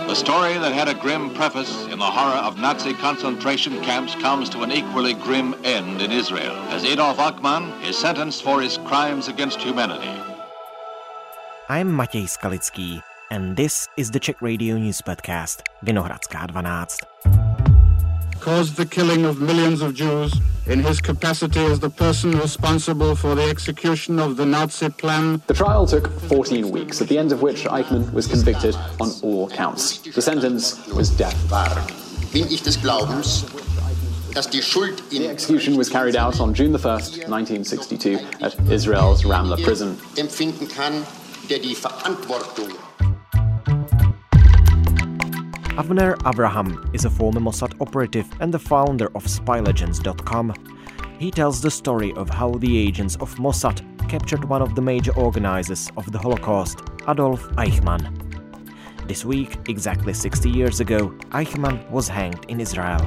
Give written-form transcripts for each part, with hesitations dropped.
The story that had a grim preface in the horror of Nazi concentration camps comes to an equally grim end in Israel, as Adolf Eichmann is sentenced for his crimes against humanity. I'm Matěj Skalický, and this is the Czech Radio News Podcast, Vinohradská 12. Caused the killing of millions of Jews in his capacity as the person responsible for the execution of the Nazi plan. The trial took 14 weeks, at the end of which Eichmann was convicted on all counts. The sentence was death. Bin ich des Glaubens, dass die Schuld in The execution was carried out on June 1st, 1962, at Israel's Ramla prison. empfinden kann, der die Verantwortung Avner Avraham is a former Mossad operative and the founder of SpyLegends.com. He tells the story of how the agents of Mossad captured one of the major organizers of the Holocaust, Adolf Eichmann. This week, exactly 60 years ago, Eichmann was hanged in Israel.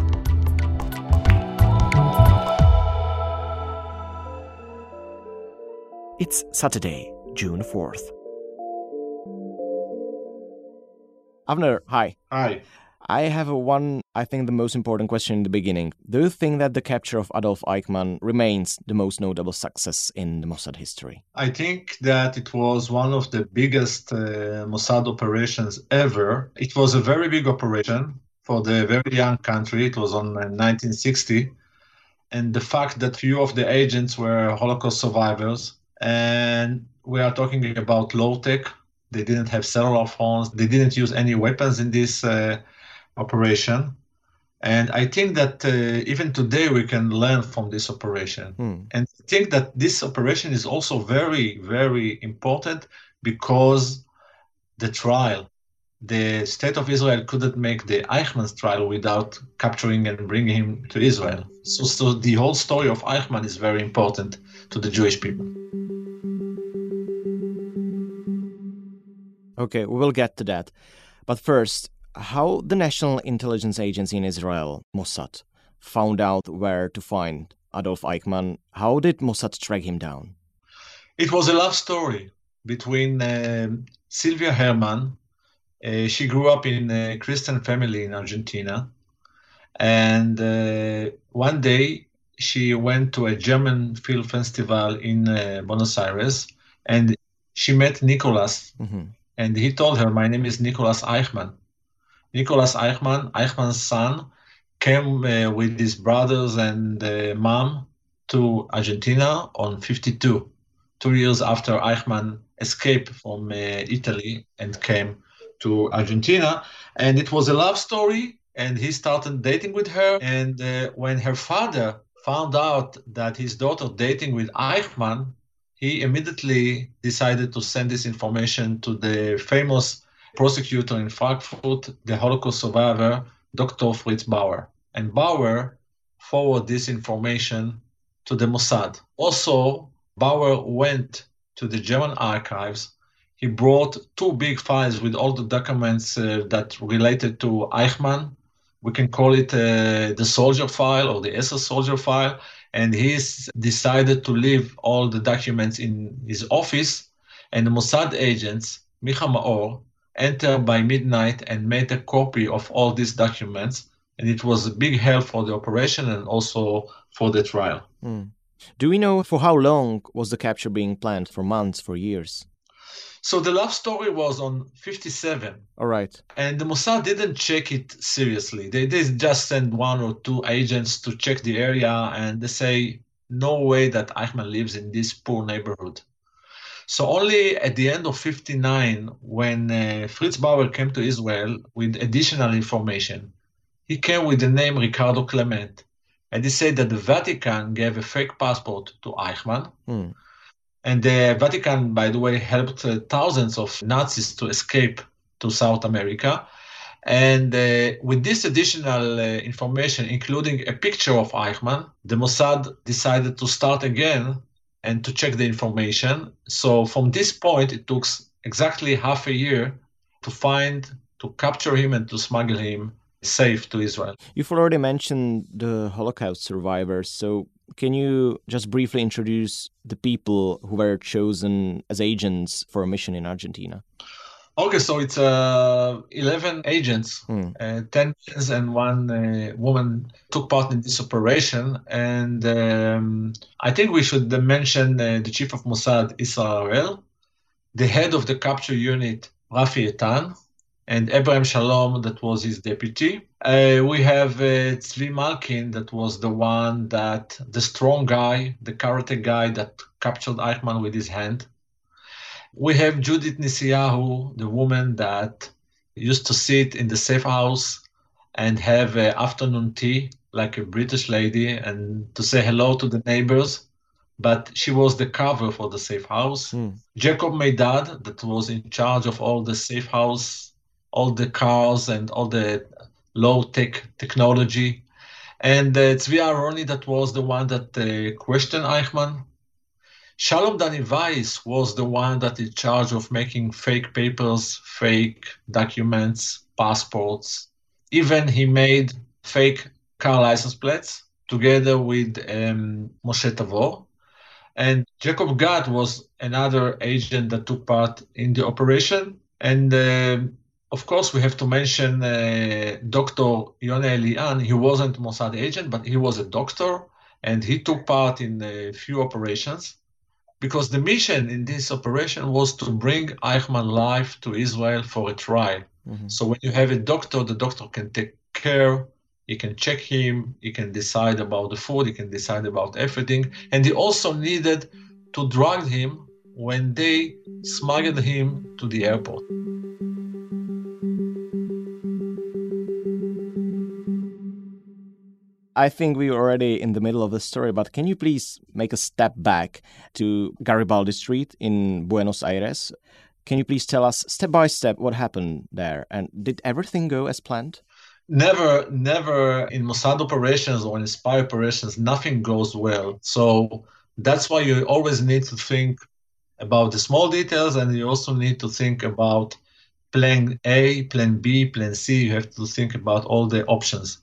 It's Saturday, June 4th. Avner, hi. Hi. I have the most important question in the beginning. Do you think that the capture of Adolf Eichmann remains the most notable success in the Mossad history? I think that it was one of the biggest Mossad operations ever. It was a very big operation for the very young country. It was on 1960. And the fact that few of the agents were Holocaust survivors, and we are talking about low-tech. They didn't have cellular phones. They didn't use any weapons in this operation. And I think that even today we can learn from this operation. And I think that this operation is also very, very important because the trial, the state of Israel couldn't make the Eichmann's trial without capturing and bringing him to Israel. So the whole story of Eichmann is very important to the Jewish people. Okay, we will get to that. But first, how the National Intelligence Agency in Israel, Mossad, found out where to find Adolf Eichmann. How did Mossad track him down? It was a love story between Sylvia Hermann. She grew up in a Christian family in Argentina. And one day she went to a German film festival in Buenos Aires. And she met Nicholas. And he told her, my name is Nicholas Eichmann. Nicholas Eichmann, Eichmann's son, came with his brothers and mom to Argentina on 52, 2 years after Eichmann escaped from Italy and came to Argentina. And it was a love story, and he started dating with her. And when her father found out that his daughter dating with Eichmann, he immediately decided to send this information to the famous prosecutor in Frankfurt, the Holocaust survivor, Dr. Fritz Bauer. And Bauer forwarded this information to the Mossad. Also, Bauer went to the German archives. He brought 2 big files with all the documents that related to Eichmann. We can call it the soldier file or the SS soldier file. And he's decided to leave all the documents in his office. And the Mossad agents, Micha Maor, entered by midnight and made a copy of all these documents. And it was a big help for the operation and also for the trial. Do we know for how long was the capture being planned? For months, for years? So the love story was on 57. All right. And the Mossad didn't check it seriously. They just sent 1 or 2 agents to check the area, and they say, no way that Eichmann lives in this poor neighborhood. So only at the end of 59, when Fritz Bauer came to Israel with additional information, he came with the name Ricardo Clement. And he said that the Vatican gave a fake passport to Eichmann. And the Vatican, by the way, helped thousands of Nazis to escape to South America. And with this additional information, including a picture of Eichmann, the Mossad decided to start again and to check the information. So from this point, it took exactly half a year to capture him and to smuggle him safe to Israel. You've already mentioned the Holocaust survivors. So can you just briefly introduce the people who were chosen as agents for a mission in Argentina? Okay, so it's 11 agents, 10 men and one woman took part in this operation. And I think we should mention the chief of Mossad, Issa Harel, the head of the capture unit, Rafi Etan, and Abraham Shalom, that was his deputy. We have Tzvi Malkin, that was the strong guy, the karate guy that captured Eichmann with his hand. We have Judith Nisiyahu, the woman that used to sit in the safe house and have afternoon tea like a British lady and to say hello to the neighbors. But she was the cover for the safe house. Jacob Meidad, that was in charge of all the safe house, all the cars and all the low-tech technology. And Tzvi Aharoni, that was the one that questioned Eichmann. Shalom Dani Weiss was the one that is in charge of making fake papers, fake documents, passports. Even he made fake car license plates together with Moshe Tavor. And Jacob Gad was another agent that took part in the operation. And of course, we have to mention Dr. Yonah Elian. He wasn't a Mossad agent, but he was a doctor, and he took part in a few operations. Because the mission in this operation was to bring Eichmann live to Israel for a trial. So when you have a doctor, the doctor can take care, he can check him, he can decide about the food, he can decide about everything. And he also needed to drug him when they smuggled him to the airport. I think we're already in the middle of the story, but can you please make a step back to Garibaldi Street in Buenos Aires? Can you please tell us step by step what happened there? And did everything go as planned? Never in Mossad operations or in spy operations, nothing goes well. So that's why you always need to think about the small details, and you also need to think about plan A, plan B, plan C. You have to think about all the options.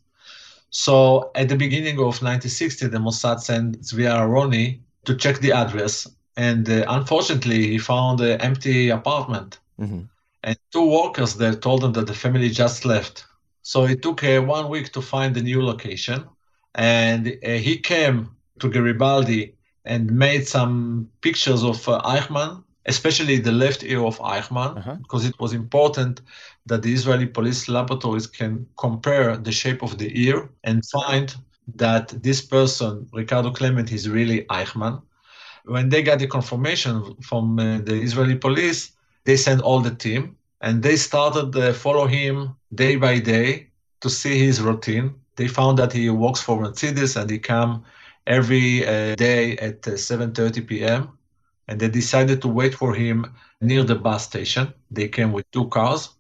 So at the beginning of 1960, the Mossad sent Tzvi Aharoni to check the address. And unfortunately, he found an empty apartment. And two workers there told him that the family just left. So it took 1 week to find a new location. And he came to Garibaldi and made some pictures of Eichmann, especially the left ear of Eichmann, because it was important that the Israeli police laboratories can compare the shape of the ear and find that this person, Ricardo Clement, is really Eichmann. When they got the confirmation from the Israeli police, they sent all the team, and they started to follow him day by day to see his routine. They found that he works for Mercedes, and he comes every day at 7:30 p.m., and they decided to wait for him near the bus station. They came with 2 cars.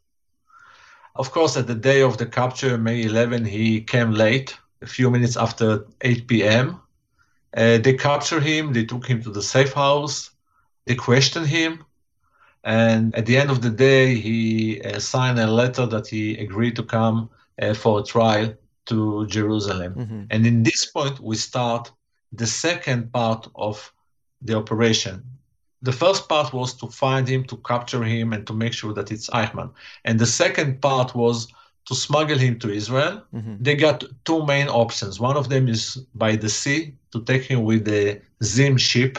Of course, at the day of the capture, May 11, he came late, a few minutes after 8 p.m. They captured him, they took him to the safe house, they questioned him, and at the end of the day, he signed a letter that he agreed to come for a trial to Jerusalem. And in this point, we start the second part of the operation. The first part was to find him, to capture him, and to make sure that it's Eichmann. And the second part was to smuggle him to Israel. They got 2 main options. One of them is by the sea, to take him with the Zim ship.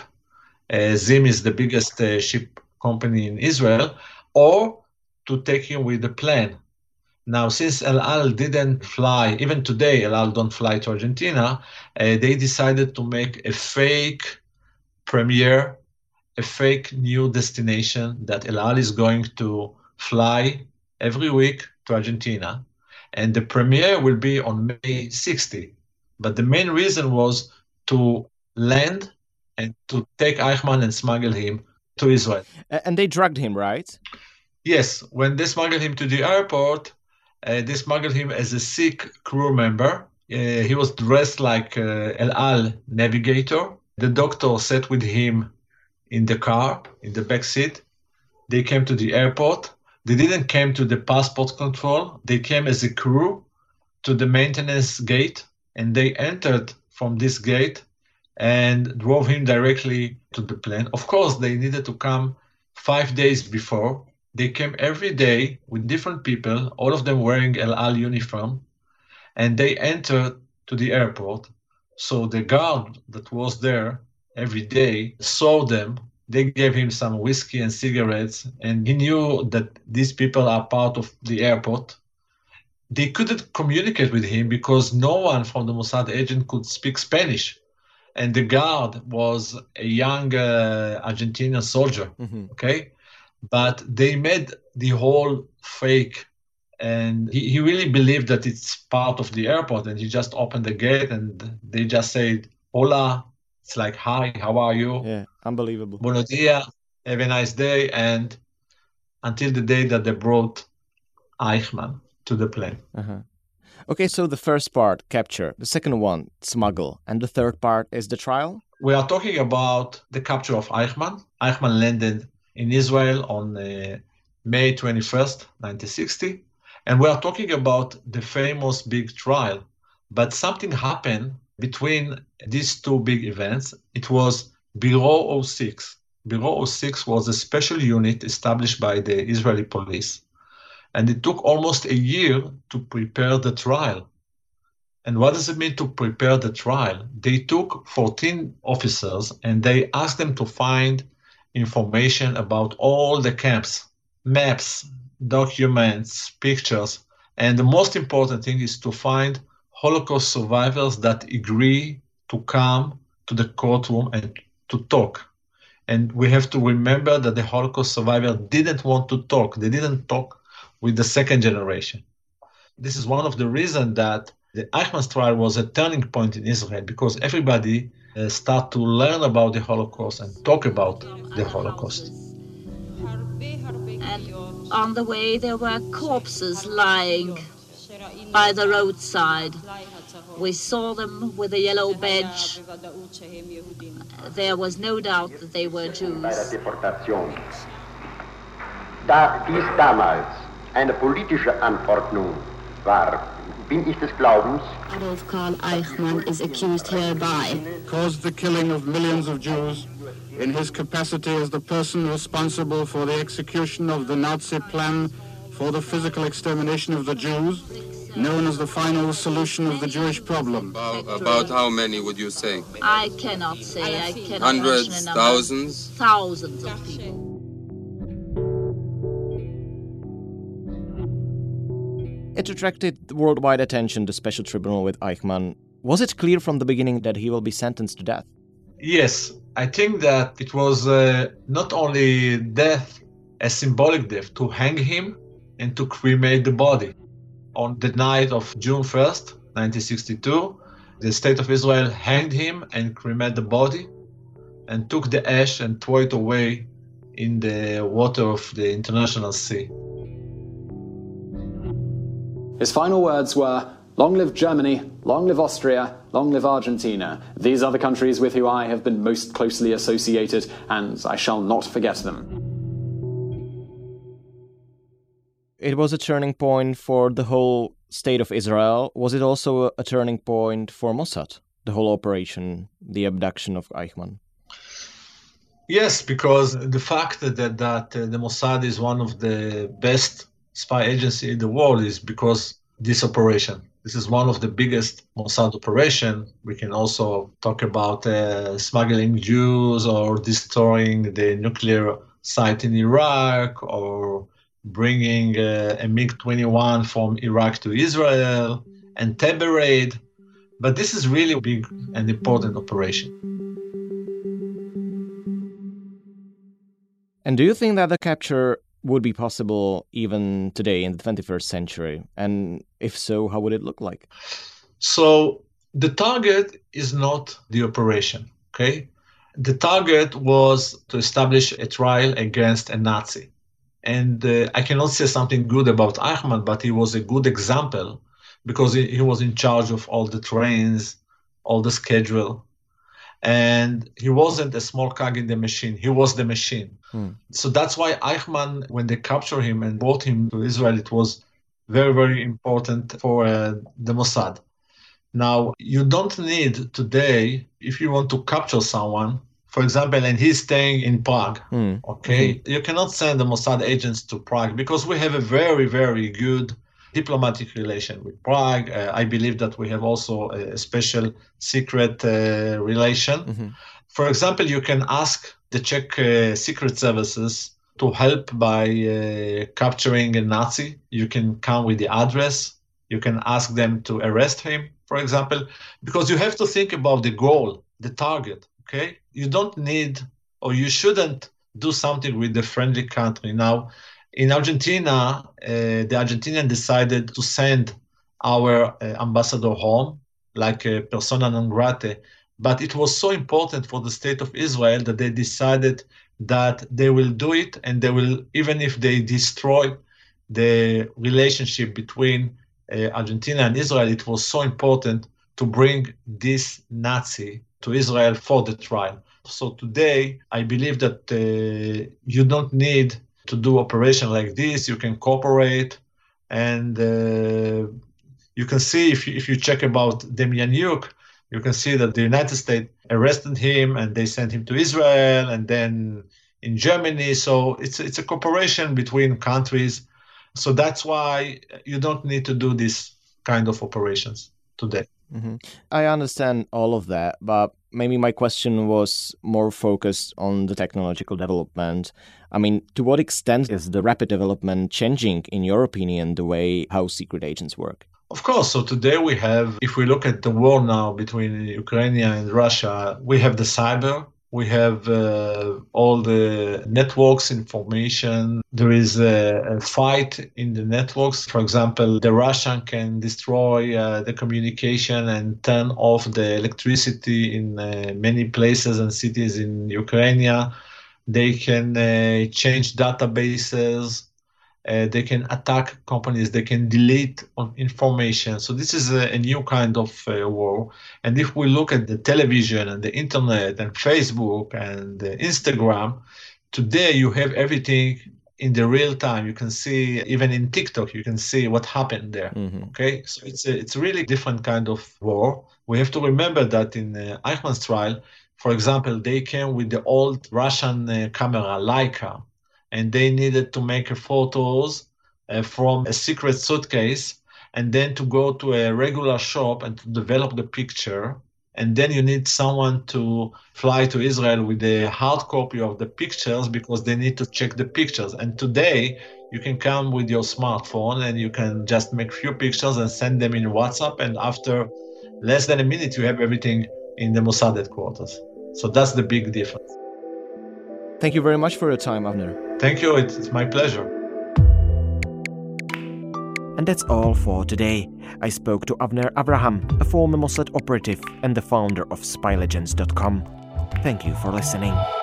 Zim is the biggest ship company in Israel, or to take him with the plane. Now, since El Al didn't fly, even today El Al don't fly to Argentina, they decided to make a fake premiere, a fake new destination that El Al is going to fly every week to Argentina. And the premiere will be on May 60. But the main reason was to land and to take Eichmann and smuggle him to Israel. And they drugged him, right? Yes. When they smuggled him to the airport, they smuggled him as a sick crew member. He was dressed like El Al navigator. The doctor sat with him in the car, in the back seat. They came to the airport. They didn't come to the passport control. They came as a crew to the maintenance gate, and they entered from this gate and drove him directly to the plane. Of course, they needed to come 5 days before They came every day with different people, all of them wearing El Al uniform, and they entered to the airport. So the guard that was there every day saw them. They gave him some whiskey and cigarettes, and he knew that these people are part of the airport. They couldn't communicate with him because no one from the Mossad agent could speak Spanish. And the guard was a young Argentinian soldier, okay? But they made the whole fake, and he really believed that it's part of the airport, and he just opened the gate and they just said, hola, it's like, hi, how are you? Yeah, unbelievable. Buenos dias, have a nice day, and until the day that they brought Eichmann to the plane. Okay, so the first part, capture, the second one, smuggle, and the third part is the trial? We are talking about the capture of Eichmann. Eichmann landed in Israel on May 21st, 1960. And we are talking about the famous big trial. But something happened between these two big events. It was Bureau 06. Bureau 06 was a special unit established by the Israeli police. And it took almost a year to prepare the trial. And what does it mean to prepare the trial? They took 14 officers and they asked them to find information about all the camps, maps, documents, pictures. And the most important thing is to find Holocaust survivors that agree to come to the courtroom and to talk. And we have to remember that the Holocaust survivors didn't want to talk. They didn't talk with the second generation. This is one of the reasons that the Eichmann trial was a turning point in Israel, because everybody start to learn about the Holocaust and talk about the Holocaust. And on the way there were corpses lying by the roadside. We saw them with a yellow badge. There was no doubt that they were Jews. Da dies damals eine politische Anordnung war, bin ich des Glaubens, Adolf Karl Eichmann is accused hereby. Caused the killing of millions of Jews in his capacity as the person responsible for the execution of the Nazi plan for the physical extermination of the Jews, known as the final solution of the Jewish problem. About how many would you say? I cannot say. I cannot Hundreds, mention a number. thousands? Thousands of people. It attracted worldwide attention, the special tribunal with Eichmann. Was it clear from the beginning that he will be sentenced to death? Yes, I think that it was not only death, a symbolic death, to hang him and to cremate the body. On the night of June 1st, 1962, the State of Israel hanged him and cremated the body and took the ash and threw it away in the water of the International Sea. His final words were, "Long live Germany, long live Austria, long live Argentina. These are the countries with whom I have been most closely associated, and I shall not forget them." It was a turning point for the whole state of Israel. Was it also a turning point for Mossad, the whole operation, the abduction of Eichmann? Yes, because the fact that the Mossad is one of the best spy agency in the world is because this operation. This is one of the biggest Mossad operation. We can also talk about smuggling Jews or destroying the nuclear site in Iraq or bringing a MiG-21 from Iraq to Israel and Tebe raid. But this is really a big and important operation. And do you think that the capture would be possible even today in the 21st century? And if so, how would it look like? So the target is not the operation, okay? The target was to establish a trial against a Nazi. And I cannot say something good about Eichmann, but he was a good example because he was in charge of all the trains, all the schedule. And he wasn't a small cog in the machine. He was the machine. So that's why Eichmann, when they captured him and brought him to Israel, it was very, very important for the Mossad. Now, you don't need today, if you want to capture someone for example, and he's staying in Prague, okay, you cannot send the Mossad agents to Prague because we have a very, very good diplomatic relation with Prague. I believe that we have also a special secret relation. For example, you can ask the Czech secret services to help by capturing a Nazi. You can come with the address. You can ask them to arrest him, for example, because you have to think about the goal, the target, okay? You don't need, or you shouldn't do something with the friendly country. Now, in Argentina, the Argentinians decided to send our ambassador home, like a persona non grata, but it was so important for the state of Israel that they decided that they will do it, and they will, even if they destroy the relationship between Argentina and Israel, it was so important to bring this Nazi to Israel for the trial. So today, I believe that you don't need to do operation like this. You can cooperate, and you can see if you check about Demjanjuk, you can see that the United States arrested him and they sent him to Israel and then in Germany. So it's a cooperation between countries. So that's why you don't need to do this kind of operations today. I understand all of that, but maybe my question was more focused on the technological development. I mean, to what extent is the rapid development changing, in your opinion, the way how secret agents work? Of course. So today we have, if we look at the war now between Ukraine and Russia, we have the cyber. We have all the networks information. There is a fight in the networks. For example, the Russian can destroy the communication and turn off the electricity in many places and cities in Ukraine. They can change databases. They can attack companies, they can delete information. So this is a new kind of war. And if we look at the television and the internet and Facebook and Instagram, today you have everything in the real time. You can see, even in TikTok, you can see what happened there. Okay, so it's a really different kind of war. We have to remember that in Eichmann's trial, for example, they came with the old Russian camera, Leica, and they needed to make photos from a secret suitcase and then to go to a regular shop and to develop the picture. And then you need someone to fly to Israel with a hard copy of the pictures because they need to check the pictures. And today you can come with your smartphone and you can just make few pictures and send them in WhatsApp. And after less than a minute, you have everything in the Mossad headquarters. So that's the big difference. Thank you very much for your time, Avner. Thank you. It's my pleasure. And that's all for today. I spoke to Avner Avraham, a former Mossad operative and the founder of SpyLegends.com. Thank you for listening.